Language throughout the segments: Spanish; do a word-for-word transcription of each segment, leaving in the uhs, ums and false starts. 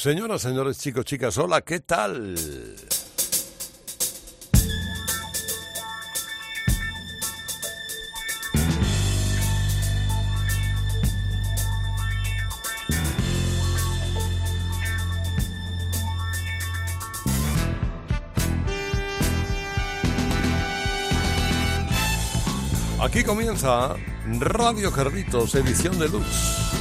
Señoras, señores, chicos, chicas, hola, ¿qué tal? Aquí comienza Radio Carlitos, edición de Lux.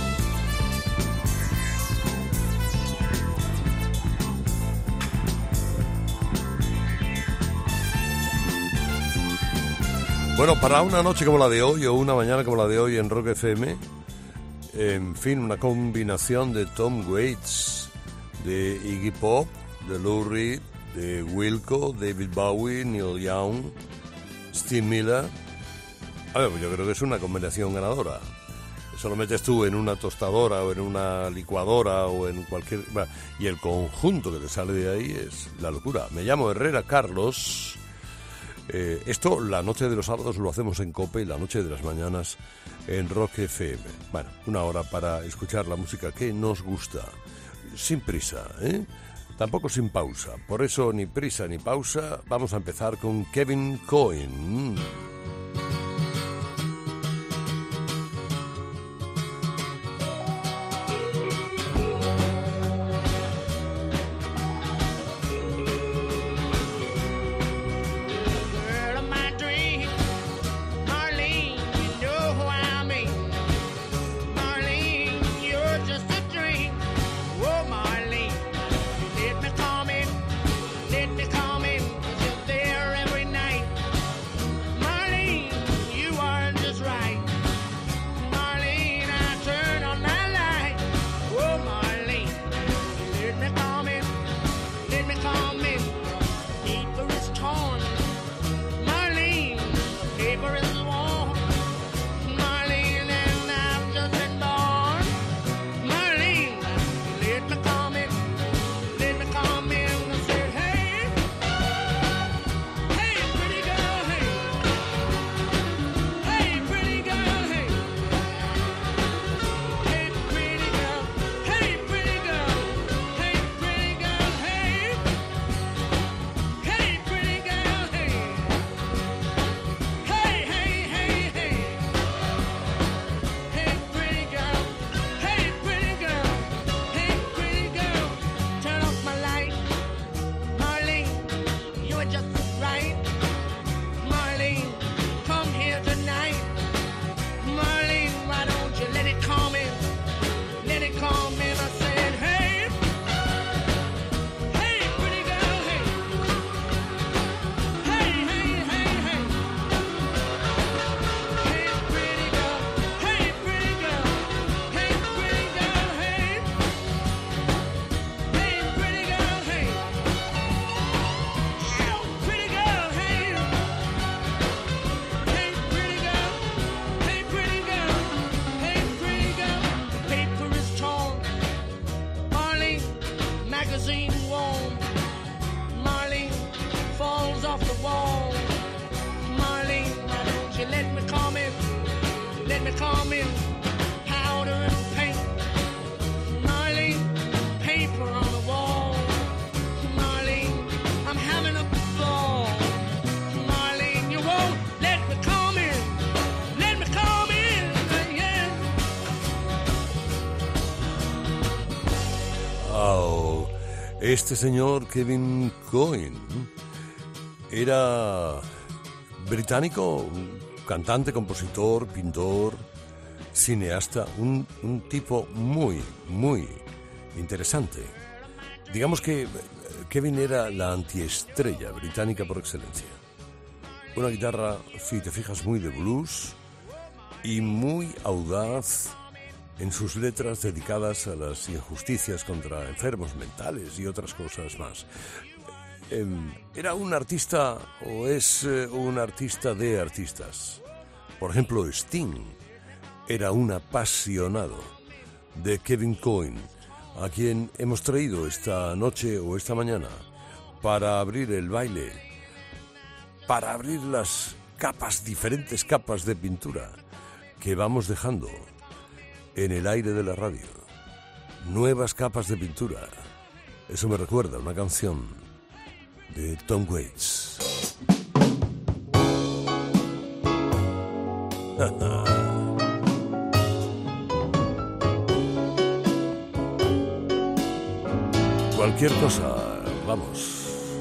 Bueno, para una noche como la de hoy o una mañana como la de hoy en Rock F M, en fin, una combinación de Tom Waits, de Iggy Pop, de Lou Reed, de Wilco, David Bowie, Neil Young, Steve Miller. A ver, pues yo creo que es una combinación ganadora. Eso lo metes tú en una tostadora o en una licuadora o en cualquier... Y el conjunto que te sale de ahí es la locura. Me llamo Herrera Carlos. Eh, esto, la noche de los sábados lo hacemos en COPE y la noche de las mañanas en Rock F M. Bueno, una hora para escuchar la música que nos gusta. Sin prisa, ¿eh? Tampoco sin pausa. Por eso, ni prisa ni pausa. Vamos a empezar con Kevin Coyne. Este señor Kevin Coyne era británico, cantante, compositor, pintor, cineasta, un, un tipo muy, muy interesante. Digamos que Kevin era la antiestrella británica por excelencia. Una guitarra, si te fijas, muy de blues y muy audaz en sus letras dedicadas a las injusticias contra enfermos mentales y otras cosas más. Eh, era un artista, o es eh, un artista de artistas. Por ejemplo, Sting era un apasionado de Kevin Coyne, a quien hemos traído esta noche o esta mañana para abrir el baile, para abrir las capas, diferentes capas de pintura que vamos dejando en el aire de la radio. Nuevas capas de pintura Eso me recuerda a una canción de Tom Waits. Cualquier cosa, vamos.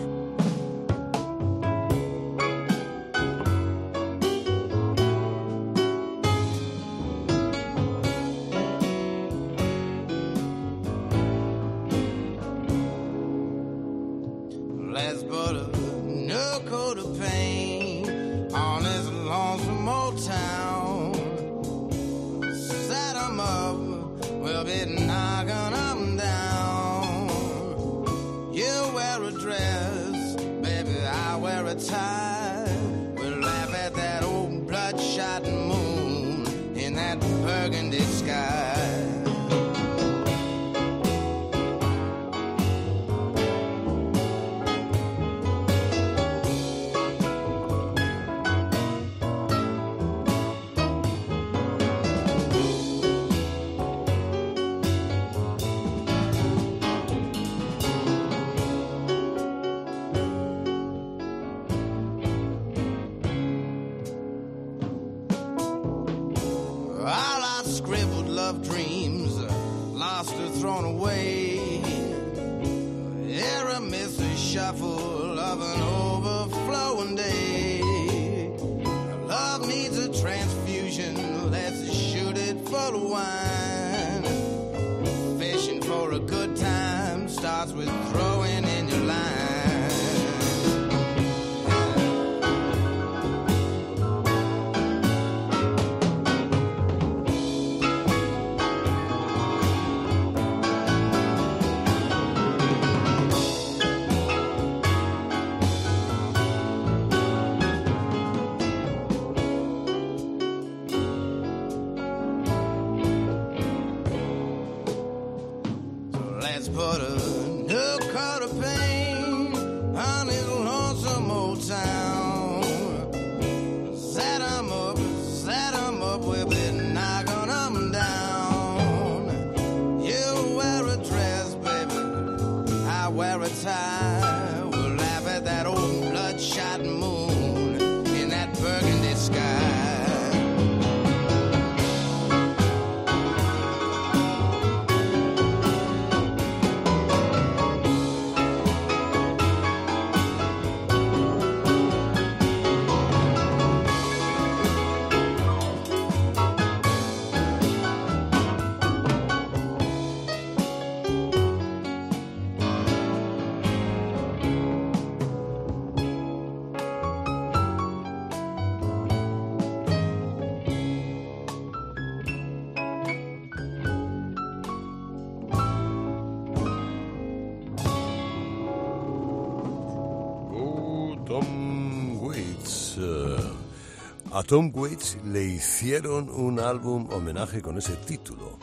A Tom Waits le hicieron un álbum homenaje con ese título,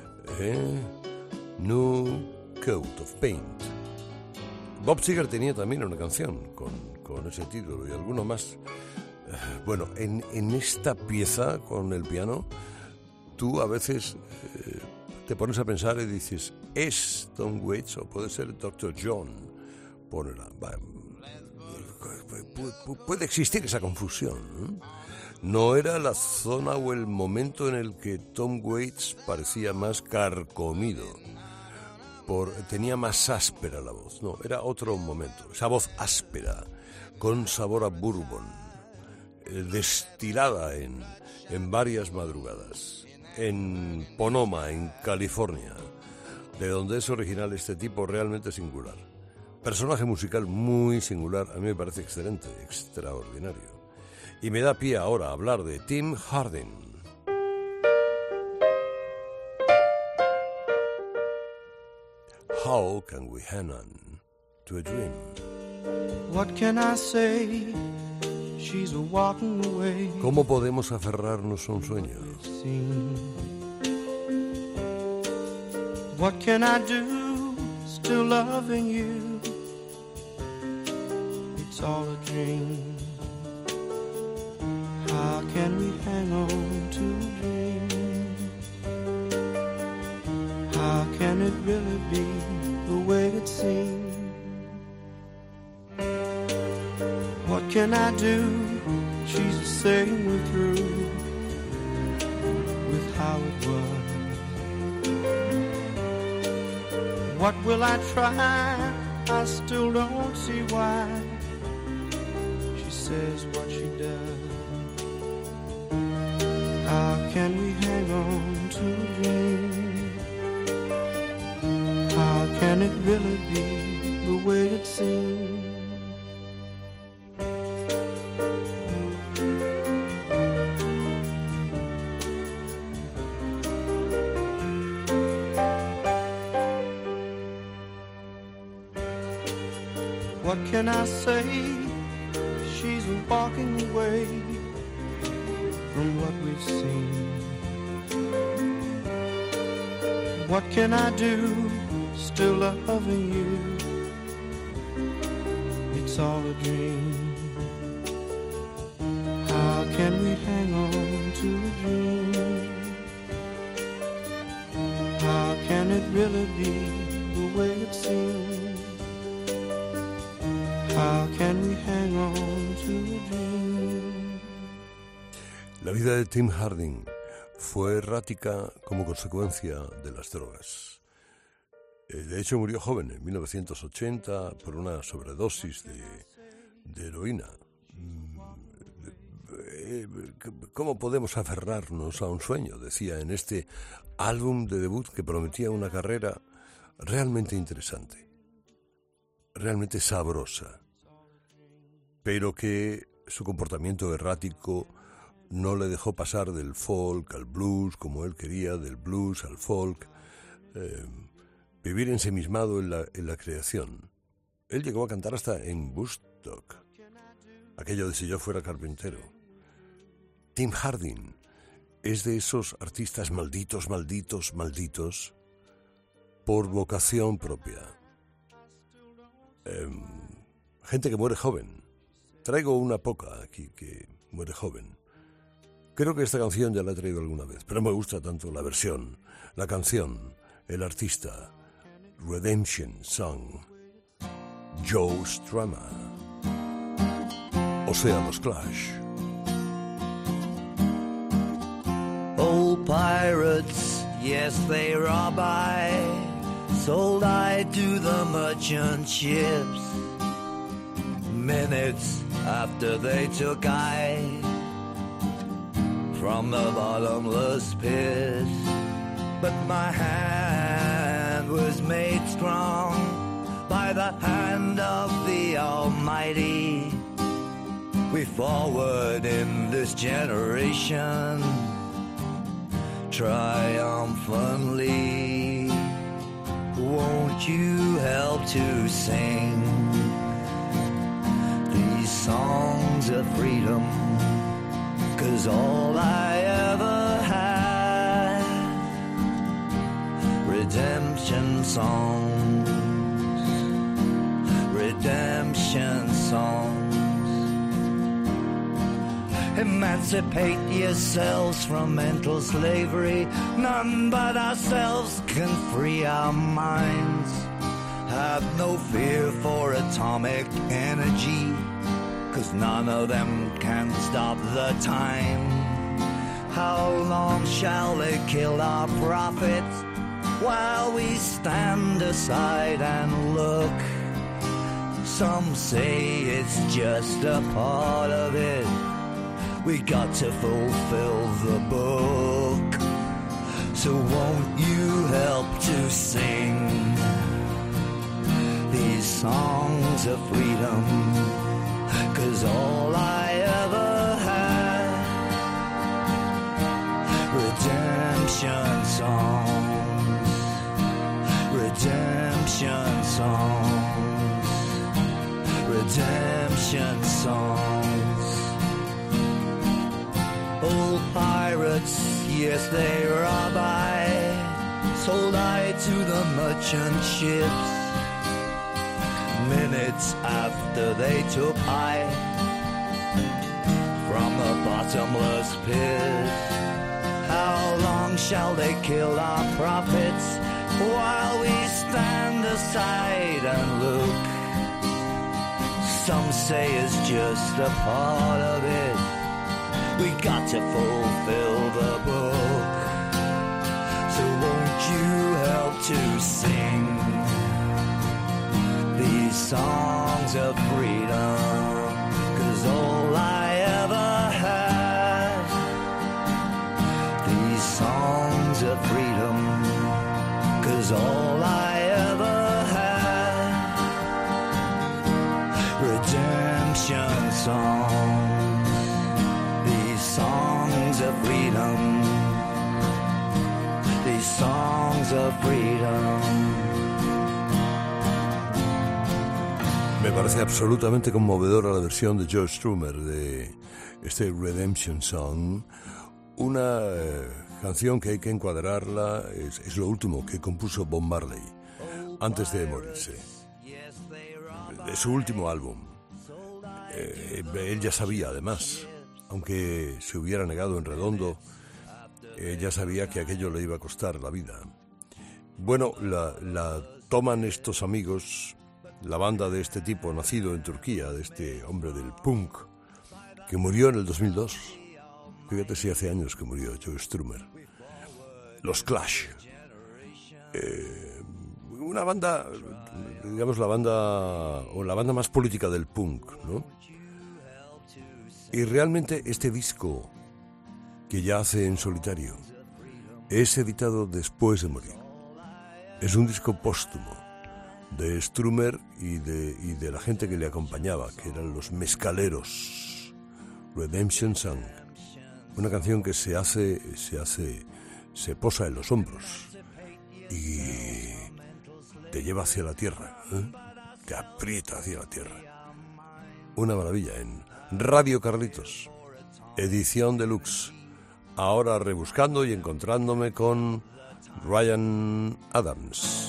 ¿eh? New Coat of Paint. Bob Seger tenía también una canción con, con ese título y alguno más. Bueno, en, en esta pieza con el piano, tú a veces eh, te pones a pensar y dices, ¿es Tom Waits o puede ser doctor John? Ponela. Puede existir esa confusión, ¿no? No era la zona o el momento en el que Tom Waits parecía más carcomido, por, tenía más áspera la voz. No, era otro momento. Esa voz áspera, con sabor a bourbon, eh, destilada en, en varias madrugadas, en Ponoma, en California, de donde es original este tipo realmente singular. Personaje musical muy singular, a mí me parece excelente, extraordinario. Y me da pie ahora a hablar de Tim Hardin. How can we hang on to a dream? What can I say? She's walking away. ¿Cómo podemos aferrarnos a un sueño? What can I do? Still loving you. It's all a dream. How can we hang on to a dream? How can it really be the way it it seems. What can I do? She's saying we're through with how it was. What will I try? I still don't see why she says what she does. How can we hang on to a dream? How can it really be the way it seems? What can I say? She's walking away from what we've seen. What can I do? Still loving you. It's all a dream. How can we hang on to a dream? How can it really be the way it seems? How can we hang on to a dream? La vida de Tim Harding fue errática como consecuencia de las drogas. De hecho, murió joven, en mil novecientos ochenta, por una sobredosis de, de heroína. ¿Cómo podemos aferrarnos a un sueño?, decía en este álbum de debut que prometía una carrera realmente interesante, realmente sabrosa, pero que su comportamiento errático no le dejó pasar del folk al blues como él quería, del blues al folk, eh, vivir ensimismado en la, en la creación. Él llegó a cantar hasta en Woodstock, aquello de si yo fuera carpintero. Tim Harding es de esos artistas malditos, malditos, malditos, por vocación propia. Eh, gente que muere joven. Traigo una poca aquí que muere joven. Creo que esta canción ya la he traído alguna vez, pero me gusta tanto la versión, la canción, el artista. Redemption Song, Joe Strummer, o sea, los Clash. Old pirates, yes, they rob I, sold I to the merchant ships. Minutes after they took I from the bottomless pit, but my hand was made strong by the hand of the Almighty. We forward in this generation triumphantly. Won't you help to sing these songs of freedom? 'Cause all I ever had, redemption songs, redemption songs. Emancipate yourselves from mental slavery. None but ourselves can free our minds. Have no fear for atomic energy, 'cause none of them can stop the time. How long shall they kill our prophets while we stand aside and look? Some say it's just a part of it. We got to fulfill the book. So won't you help to sing these songs of freedom? 'Cause all I ever had, redemption songs, redemption songs, redemption songs. Old pirates, yes, they rob I, sold I to the merchant ships. Minutes after they took I from the bottomless pit. How long shall they kill our prophets while we stand aside and look. Some say it's just a part of it. We got to fulfill the book. So won't you help to sing these songs of freedom? 'Cause all I ever had, these songs of freedom. 'Cause all I ever had, redemption songs, these songs of freedom, these songs of freedom. Me parece absolutamente conmovedora la versión de Joe Strummer de este Redemption Song, una eh, canción que hay que encuadrarla, es, es lo último que compuso Bob Marley antes de morirse, de su último álbum. Eh, él ya sabía, además, aunque se hubiera negado en redondo, eh, ya sabía que aquello le iba a costar la vida. Bueno, la, la toman estos amigos, la banda de este tipo, nacido en Turquía, de este hombre del punk, que murió en el dos mil dos. Fíjate si hace años que murió Joe Strummer. Los Clash. Eh, una banda, digamos la banda, o la banda más política del punk, ¿no? Y realmente este disco, que ya hace en solitario, es editado después de morir. Es un disco póstumo de Strummer y de, y de la gente que le acompañaba, que eran los mezcaleros. Redemption Song, una canción que se hace, se hace, se posa en los hombros y te lleva hacia la tierra, ¿eh? Te aprieta hacia la tierra. Una maravilla en Radio Carlitos, edición deluxe. Ahora rebuscando y encontrándome con Ryan Adams.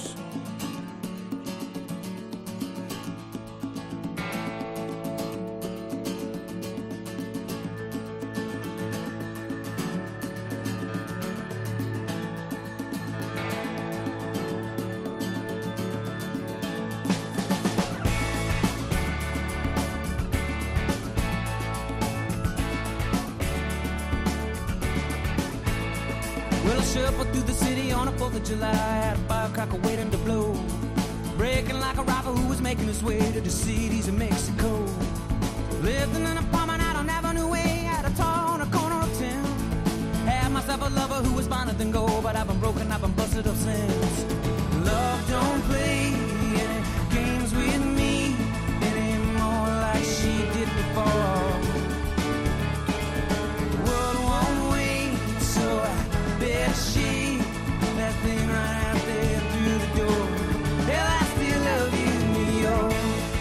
Shuffle through the city on a fourth of July, had a firecracker waiting to blow, breaking like a robber who was making his way to the cities of Mexico. Lived in an apartment out on Avenue Way, at a tall on a corner of town. Had myself a lover who was finer than gold, but I've been broken, I've been busted up since. Love don't play any games with me anymore like she did before. She, that thing right out there through the door. Hell, I still love you, New York.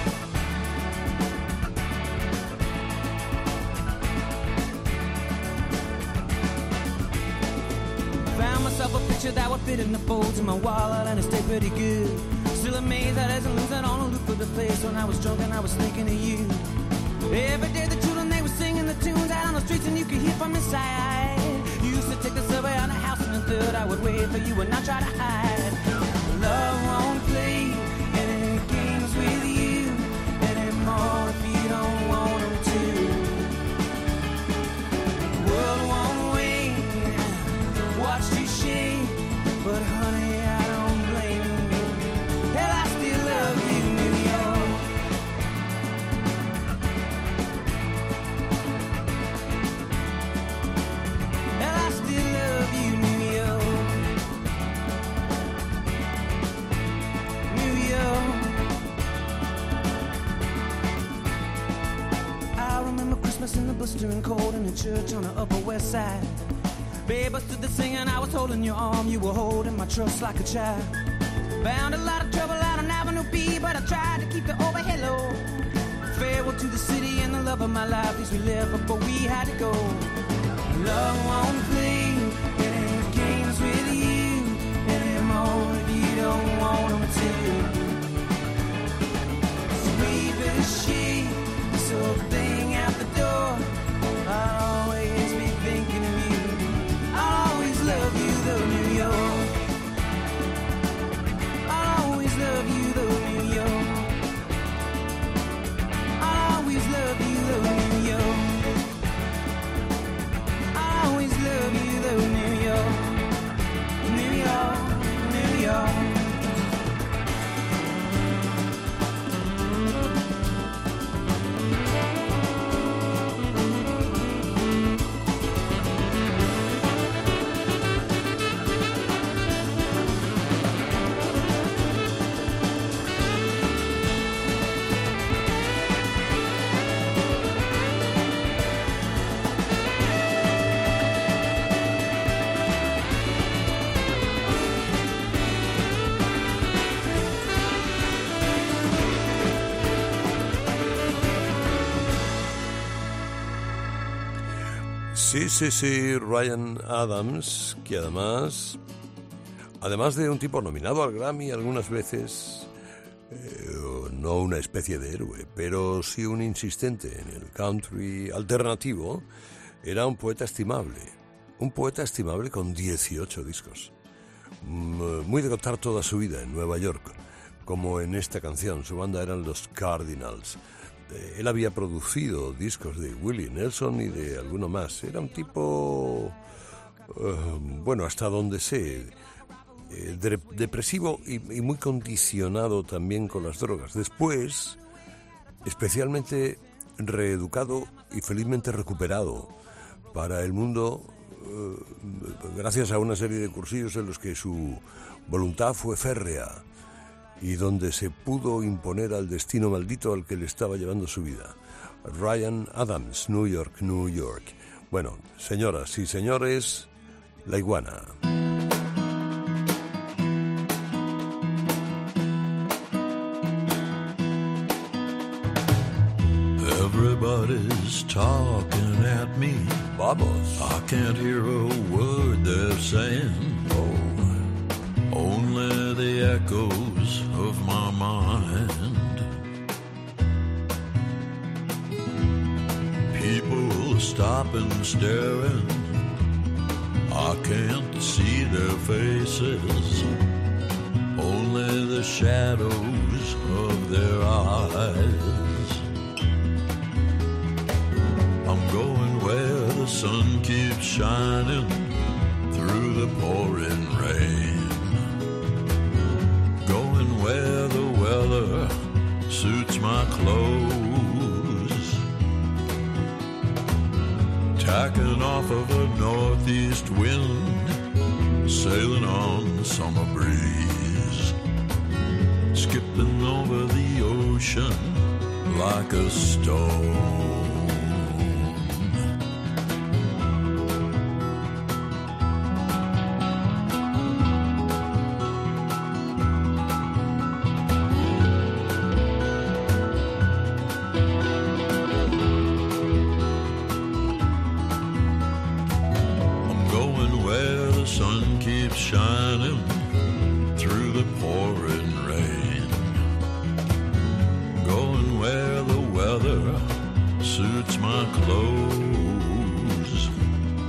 Found myself a picture that would fit in the folds of my wallet, and it stayed pretty good. Still amazed that I isn't losing on a loop of the place. When I was drunk and I was thinking of you. Every day the children, they were singing the tunes out on the streets, and you could hear from inside. You used to take the subway on the house in the third. I would wait for you and not try to hide. Love won't play any games with you anymore if you don't want them to. The world won't wait, watch you shake, but honey, I don't blame you. Hell, I still love you, New York. Hell, I still love you, New York. New York. I remember Christmas in the blistering cold in a church on the Upper West Side. Babe, I stood there singing, I was holding your arm, you were holding my trust like a child. Found a lot of trouble out on Avenue B, but I tried to keep the overhead low. Farewell to the city and the love of my life, these we lived before we had to go. Love won't play any games with you anymore if you don't want them to. Sweep as she, this old thing out the door. I'll always be thinking of you. I'll always love you though, New York. Sí, sí, sí, Ryan Adams, que además, además de un tipo nominado al Grammy algunas veces, eh, no una especie de héroe, pero sí un insistente en el country alternativo, era un poeta estimable, un poeta estimable con dieciocho discos, muy de contar toda su vida en Nueva York, como en esta canción. Su banda eran los Cardinals. Él había producido discos de Willie Nelson y de alguno más. Era un tipo, uh, bueno, hasta donde sé, eh, de, depresivo y, y muy condicionado también con las drogas. Después, especialmente reeducado y felizmente recuperado para el mundo, uh, gracias a una serie de cursillos en los que su voluntad fue férrea y donde se pudo imponer al destino maldito al que le estaba llevando su vida. Ryan Adams, New York, New York. Bueno, señoras y señores, La Iguana. Everybody's talking at me. Vamos. I can't hear a word they're saying. Oh. Only the echoes of my mind. People stopping, staring. I can't see their faces. Only the shadows of their eyes. I'm going where the sun keeps shining through the pouring rain. Where the weather suits my clothes. Tacking off of a northeast wind, sailing on the summer breeze. Skipping over the ocean like a stone. Shining through the pouring rain. Going where the weather suits my clothes.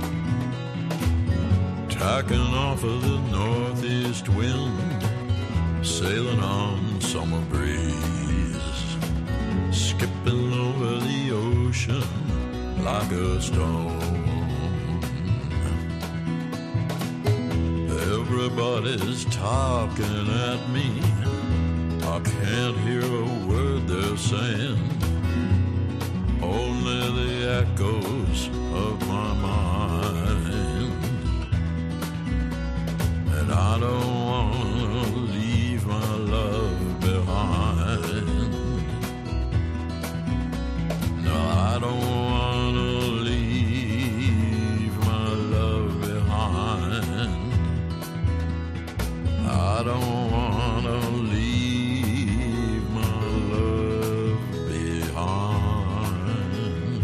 Tacking off of the northeast wind, sailing on summer breeze. Skipping over the ocean like a stone. Everybody's talking at me. I can't hear a word they're saying. Only the echoes of my mind. And I don't want to leave my love behind. No, I don't want to leave my love behind. I don't wanna leave my love behind.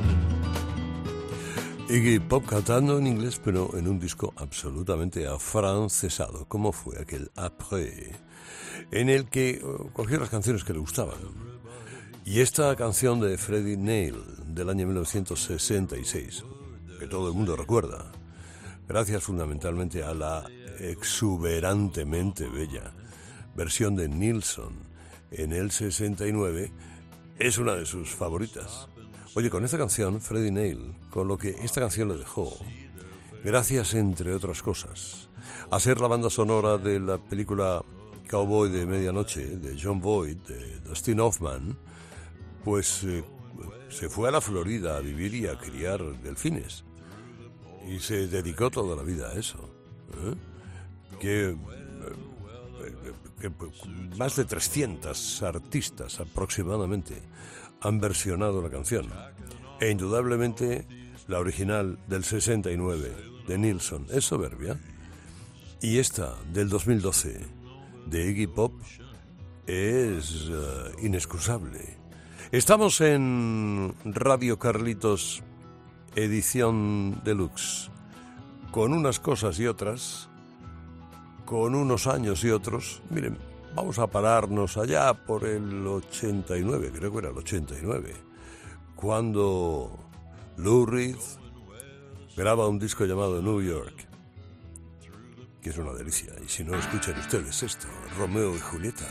Iggy Pop cantando en inglés, pero en un disco absolutamente afrancesado, como fue aquel Après, en el que cogió las canciones que le gustaban. Y esta canción de Freddie Neil, del año mil novecientos sesenta y seis, que todo el mundo recuerda, gracias fundamentalmente a la exuberantemente bella versión de Nilsson en el sesenta y nueve, es una de sus favoritas. Oye, con esta canción, Freddie Neil, con lo que esta canción le dejó, gracias, entre otras cosas, a ser la banda sonora de la película Cowboy de Medianoche, de John Boyd, de Dustin Hoffman, pues eh, se fue a la Florida a vivir y a criar delfines. Y se dedicó toda la vida a eso. ¿Eh? Que, que más de trescientos artistas aproximadamente han versionado la canción. E indudablemente la original del sesenta y nueve de Nilsson es soberbia. Y esta del dos mil doce de Iggy Pop es uh, inexcusable. Estamos en Radio Carlitos edición deluxe, con unas cosas y otras, con unos años y otros. Miren, vamos a pararnos allá por el ochenta y nueve, creo que era el ochenta y nueve, cuando Lou Reed graba un disco llamado New York, que es una delicia. Y si no, escuchen ustedes esto, Romeo y Julieta.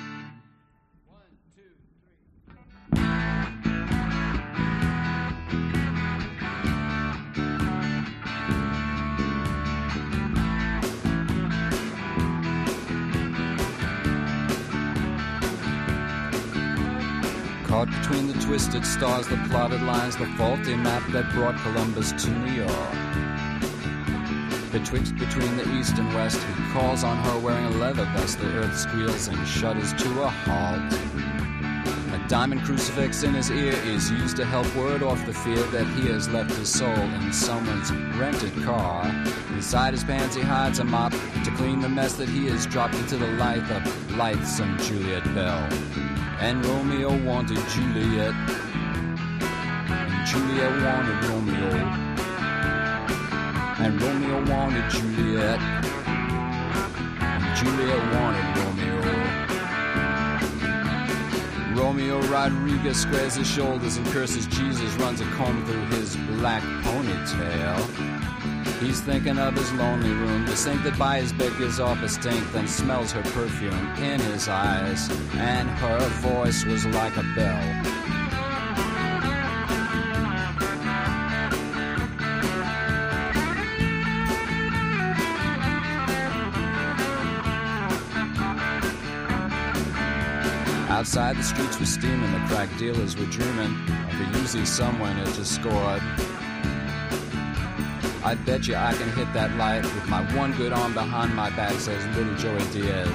Caught between the twisted stars, the plotted lines, the faulty map that brought Columbus to New York. Betwixt between the east and west, he calls on her wearing a leather vest. The earth squeals and shudders to a halt. A diamond crucifix in his ear is used to help ward off the fear that he has left his soul in someone's rented car. Inside his pants he hides a mop to clean the mess that he has dropped into the life of lightsome Juliet Bell. And Romeo wanted Juliet, and Juliet wanted Romeo, and Romeo wanted Juliet, and Juliet wanted Romeo. Romeo Rodriguez squares his shoulders and curses Jesus, runs a comb through his black ponytail. He's thinking of his lonely room, the sink that by his bed gives off a stink, then smells her perfume in his eyes, and her voice was like a bell. Outside the streets were steaming, the crack dealers were dreaming of a Uzi someone had just scored. I bet you I can hit that light with my one good arm behind my back, says little Joey Diaz.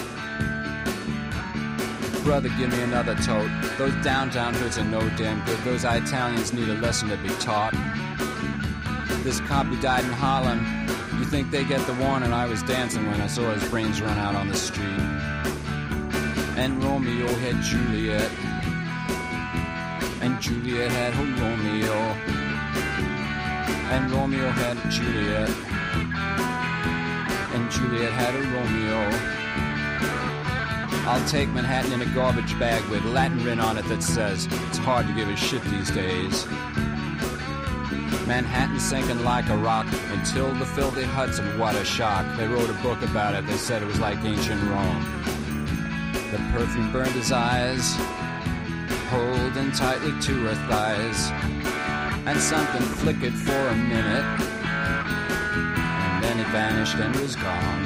Brother, give me another tote. Those downtown hoods are no damn good. Those Italians need a lesson to be taught. This cop who died in Holland, you think they get the warning? I was dancing when I saw his brains run out on the street. And Romeo had Juliet, and Juliet had her Romeo. And Romeo had Juliet, and Juliet had a Romeo. I'll take Manhattan in a garbage bag with Latin written on it that says, it's hard to give a shit these days. Manhattan sinking like a rock until the filthy Hudson, what a shock. They wrote a book about it, they said it was like ancient Rome. The perfume burned his eyes, holding tightly to her thighs. And something flickered for a minute, and then it vanished and was gone.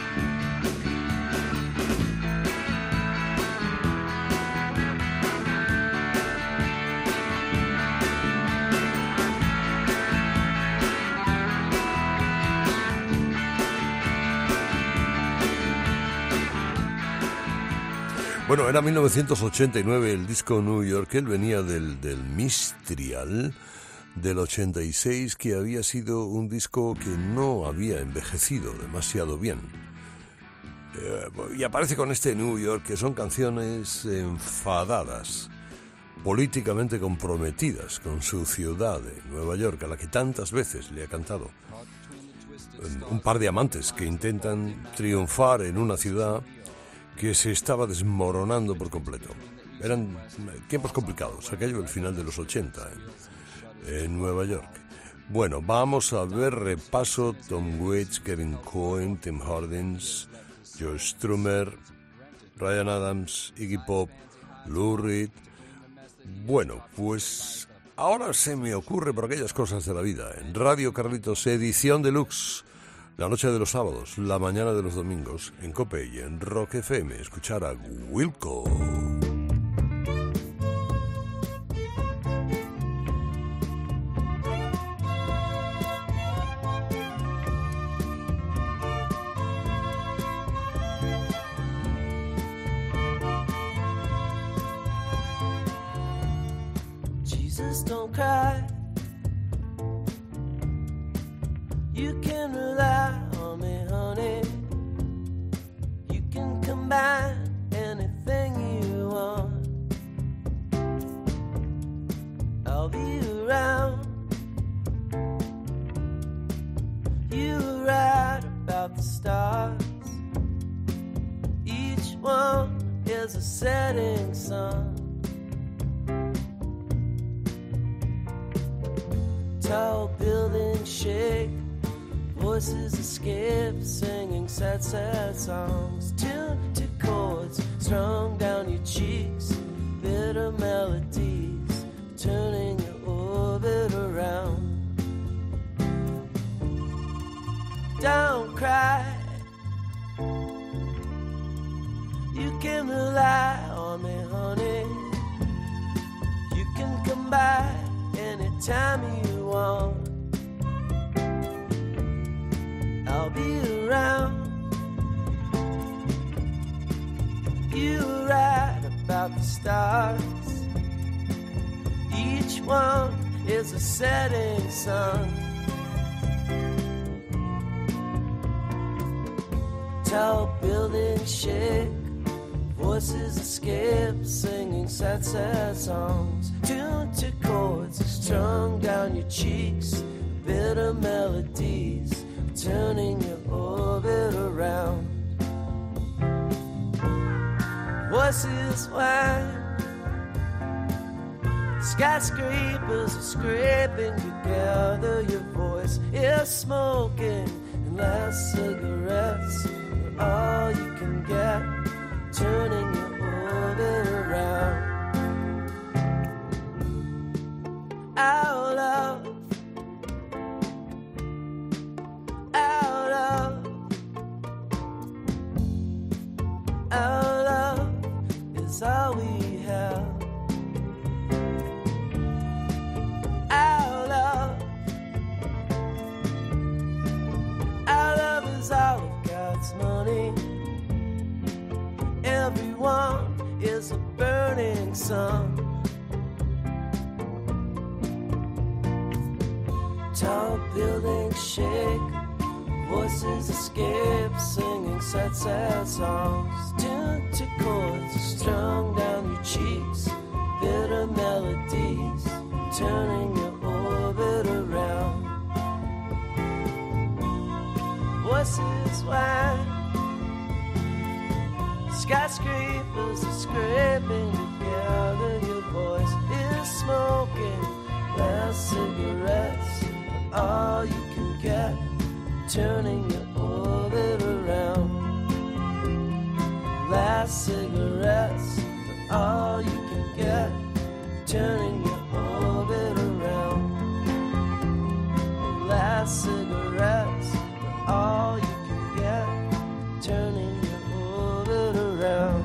Bueno, era mil novecientos ochenta y nueve el disco New York. Él venía del, del Mistrial del ochenta y seis, que había sido un disco que no había envejecido demasiado bien. Eh, y aparece con este New York, que son canciones enfadadas, políticamente comprometidas con su ciudad de Nueva York, a la que tantas veces le ha cantado. Un par de amantes que intentan triunfar en una ciudad que se estaba desmoronando por completo. Eran tiempos complicados, aquello el final de los ochenta en, en Nueva York. Bueno, vamos a ver repaso: Tom Waits, Kevin Cohen, Tim Hardins, Joe Strummer, Ryan Adams, Iggy Pop, Lou Reed. Bueno, pues ahora se me ocurre por aquellas cosas de la vida. En Radio Carlitos, edición deluxe, la noche de los sábados, la mañana de los domingos, en COPE y en Rock F M, escuchar a Wilco. Jesus, don't cry. You can rely on me, honey. You can combine anything you want. I'll be around is a setting sun. Tall buildings shake, voices escape, singing sad, sad songs, tuned to chords strung down your cheeks, bitter melodies turning your orbit around. Don't cry, you can rely on me, honey. You can come by anytime you want. I'll be around. You were right about the stars. Each one is a setting sun. Tall buildings shake, voices escape, singing sad, sad songs, tuned to chords strung down your cheeks, bitter melodies turning your orbit around. Voices whine, skyscrapers are scraping together. Your voice is smoking, and last cigarettes are all you can get, turning your orbit around. Our love, our love, our love is all we have. Our love, our love is all of God's money. Everyone is a burning sun. Tall buildings shake, voices escape, singing sad, sad songs, tuned to chords strung down your cheeks, bitter melodies turning your orbit around. Voices whine, skyscrapers are scraping together. Your voice is smoking, last cigarettes are all you can get, turning your orbit around. Last cigarettes are all you can get, turning your orbit around. Last cigarettes are all you can get, turning your orbit around.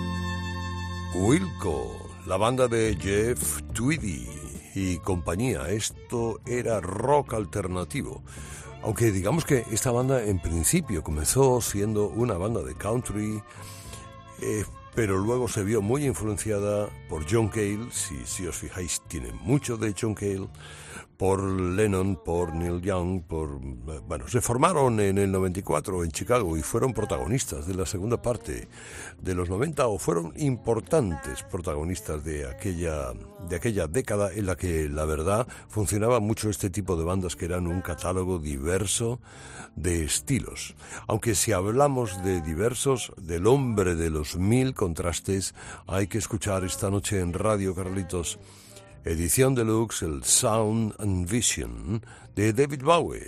Wilco, la banda de Jeff Tweedy y compañía. Esto era rock alternativo. Aunque digamos que esta banda en principio comenzó siendo una banda de country, eh, pero luego se vio muy influenciada por John Cale. Si, si os fijáis, tiene mucho de John Cale, por Lennon, por Neil Young, por... Bueno, se formaron en el noventa y cuatro en Chicago y fueron protagonistas de la segunda parte de los noventa, o fueron importantes protagonistas de aquella, de aquella década en la que, la verdad, funcionaba mucho este tipo de bandas que eran un catálogo diverso de estilos. Aunque si hablamos de diversos, del hombre de los mil contrastes, hay que escuchar esta noche en Radio Carlitos, edición deluxe, el Sound and Vision de David Bowie.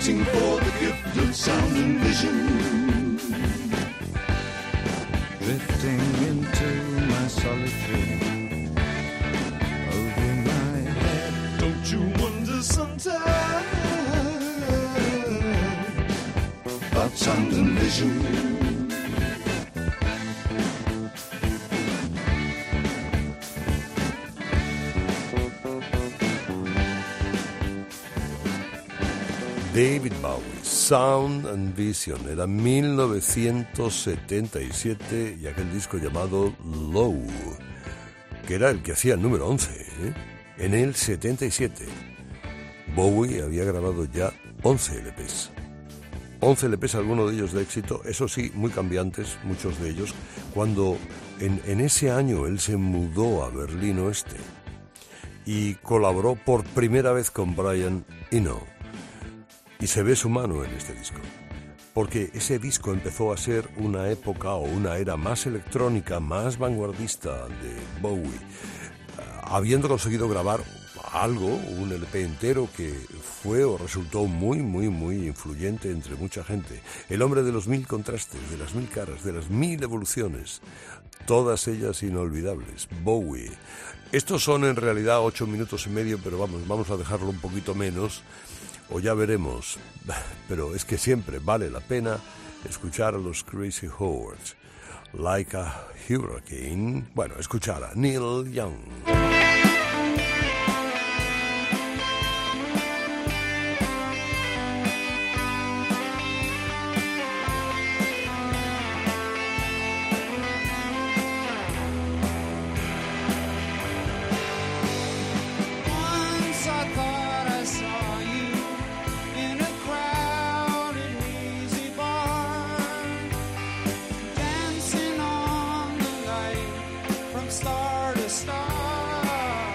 waiting for the gift of sound and vision. Drifting into my solitude, over my head. Don't you wonder sometimes about sound and vision? David Bowie, Sound and Vision, era mil novecientos setenta y siete y aquel disco llamado Low, que era el que hacía el número once, ¿eh? En el setenta y siete. Bowie había grabado ya once L Pes. once L Pes, algunos de ellos de éxito, eso sí, muy cambiantes, muchos de ellos, cuando en, en ese año él se mudó a Berlín Oeste y colaboró por primera vez con Brian Eno. Y se ve su mano en este disco, porque ese disco empezó a ser una época o una era más electrónica, más vanguardista de Bowie, habiendo conseguido grabar algo, un L P entero que fue o resultó muy, muy, muy influyente entre mucha gente. El hombre de los mil contrastes, de las mil caras, de las mil evoluciones, todas ellas inolvidables, Bowie. Estos son en realidad ocho minutos y medio, pero vamos, vamos a dejarlo un poquito menos, o ya veremos, pero es que siempre vale la pena escuchar a los Crazy Horse, Like a Hurricane, bueno, escuchar a Neil Young. Star to star.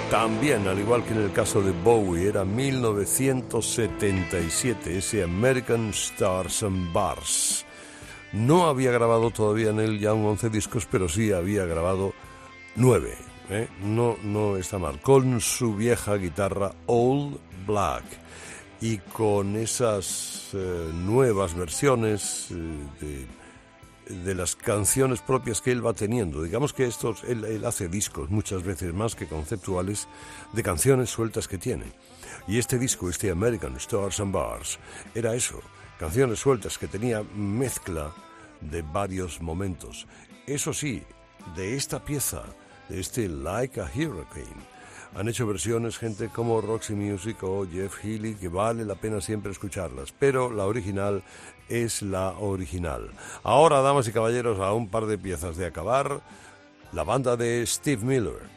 También, al igual que en el caso de Bowie, era mil novecientos setenta y siete, ese American Stars and Bars. No había grabado todavía en él ya un once discos, pero sí había grabado nueve. ¿eh? No, no está mal. Con su vieja guitarra Old Black y con esas eh, nuevas versiones eh, de, de las canciones propias que él va teniendo. Digamos que estos, él, él hace discos muchas veces más que conceptuales de canciones sueltas que tiene. Y este disco, este American Stars and Bars, era eso. Canciones sueltas que tenía mezcla de varios momentos. Eso sí, de esta pieza, de este Like a Hurricane, han hecho versiones gente como Roxy Music o Jeff Healey, que vale la pena siempre escucharlas, pero la original es la original. Ahora, damas y caballeros, a un par de piezas de acabar, la banda de Steve Miller.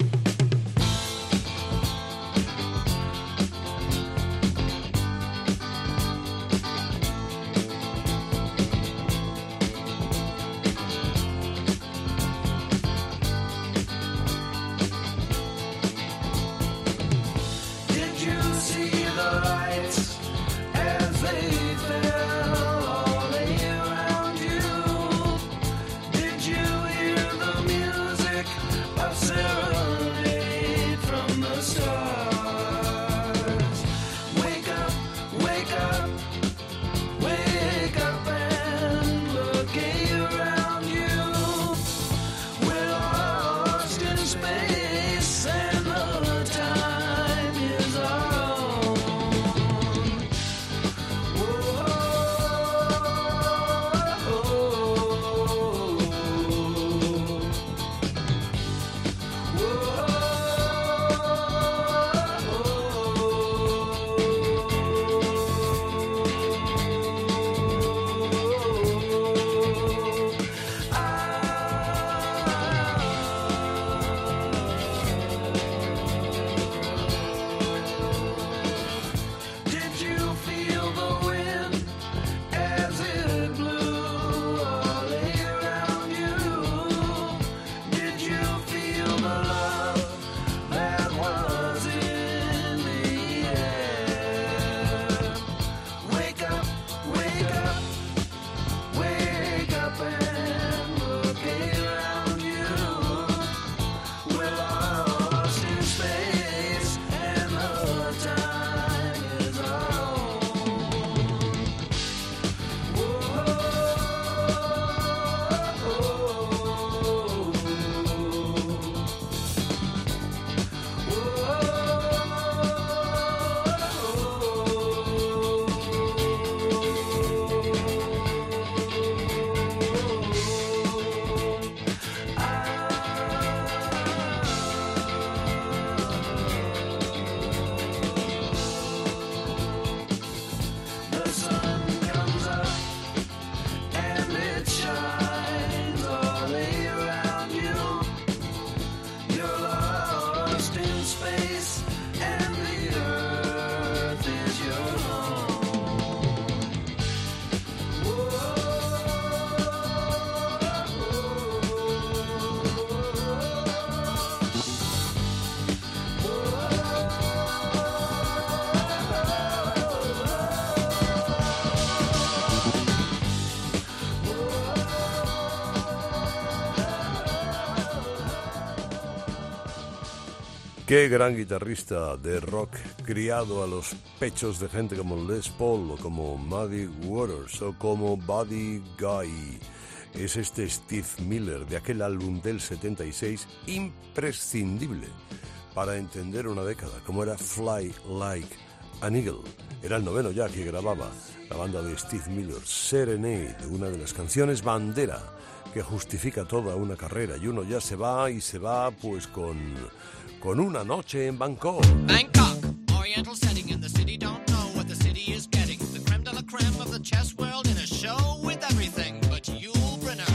Qué gran guitarrista de rock, criado a los pechos de gente como Les Paul o como Muddy Waters o como Buddy Guy. Es este Steve Miller de aquel álbum del setenta y seis, imprescindible para entender una década, como era Fly Like an Eagle. Era el noveno ya que grababa la banda de Steve Miller, Serenade, una de las canciones bandera que justifica toda una carrera, y uno ya se va y se va pues con, con una noche en Bangkok. Bangkok, oriental setting in the city, don't know what the city is getting. The creme de la creme of the chess world in a show with everything but Yul Brynner.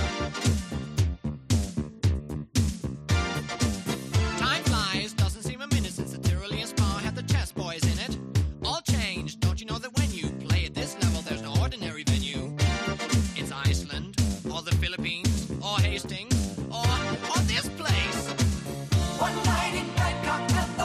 Time flies, doesn't seem a minute since the Tyrolean Spa had the chess boys in it. All changed, don't you know that when you play at this level there's no ordinary venue. It's Iceland, or the Philippines, or Hastings, or, or this place. One night in Bangkok.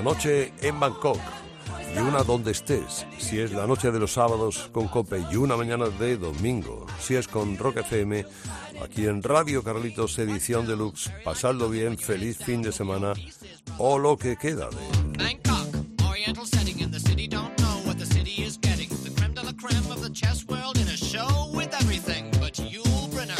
noche en Bangkok y una donde estés, si es la noche de los sábados con Cope y una mañana de domingo, si es con Rock F M, aquí en Radio Carlitos edición deluxe. Pasadlo bien, feliz fin de semana o lo que queda de... Bangkok, oriental setting in the city, don't know what the city is getting. The creme de la creme of the chess world in a show with everything but Yul Brynner.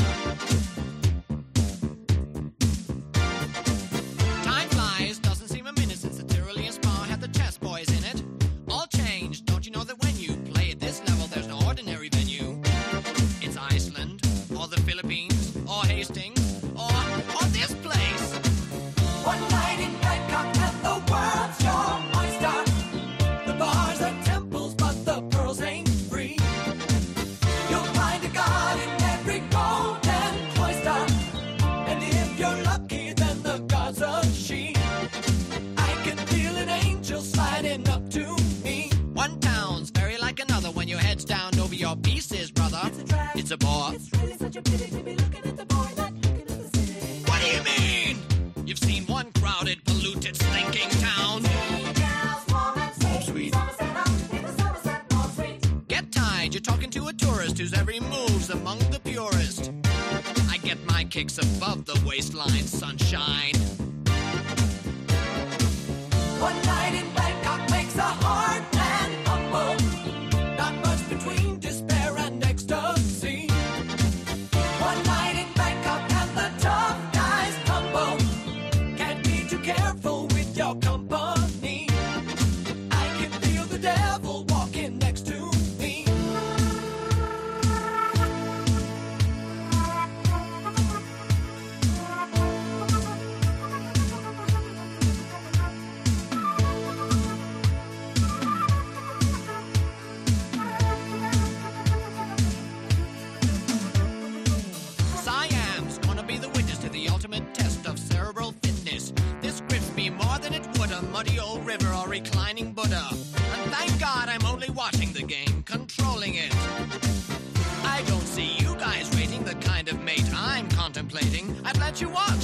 Time flies, doesn't seem a minute since the Tyrolean Spa had the chess boys in it. All changed, don't you know that when you play at this level there's no ordinary venue. It's Iceland, or the Philippines, or Hastings, or, or this place. One night in Bangkok and the world's your oyster. The bars are temples, but the pearls ain't free. You'll find a god in every golden cloister, and if you're lucky, then the god's a she. I can feel an angel sliding up to me. One town's very like another when your head's down over your pieces, brother. It's a drag. It's a bore. It's really such a pity to be looking at the boy, not looking at the city. What do you mean? You've seen one crowded, polluted, stinking town. Oh, sweet. Get tied, you're talking to a tourist whose every move's among the purest. I get my kicks above the waistline, sunshine. One night in Bangkok makes a hard man humble. Not much between despair and ecstasy. One night in Bangkok and the tough guys tumble. Can't be too careful with your company. I can feel the devil walking next to me. Siam's gonna be the witness to the ultimate test of cerebral fitness. This grips me more than it would a muddy old river or reclining Buddha. And thank God I'm only watching the game, controlling it. I don't see you guys rating the kind of mate I'm contemplating. I'd let you watch.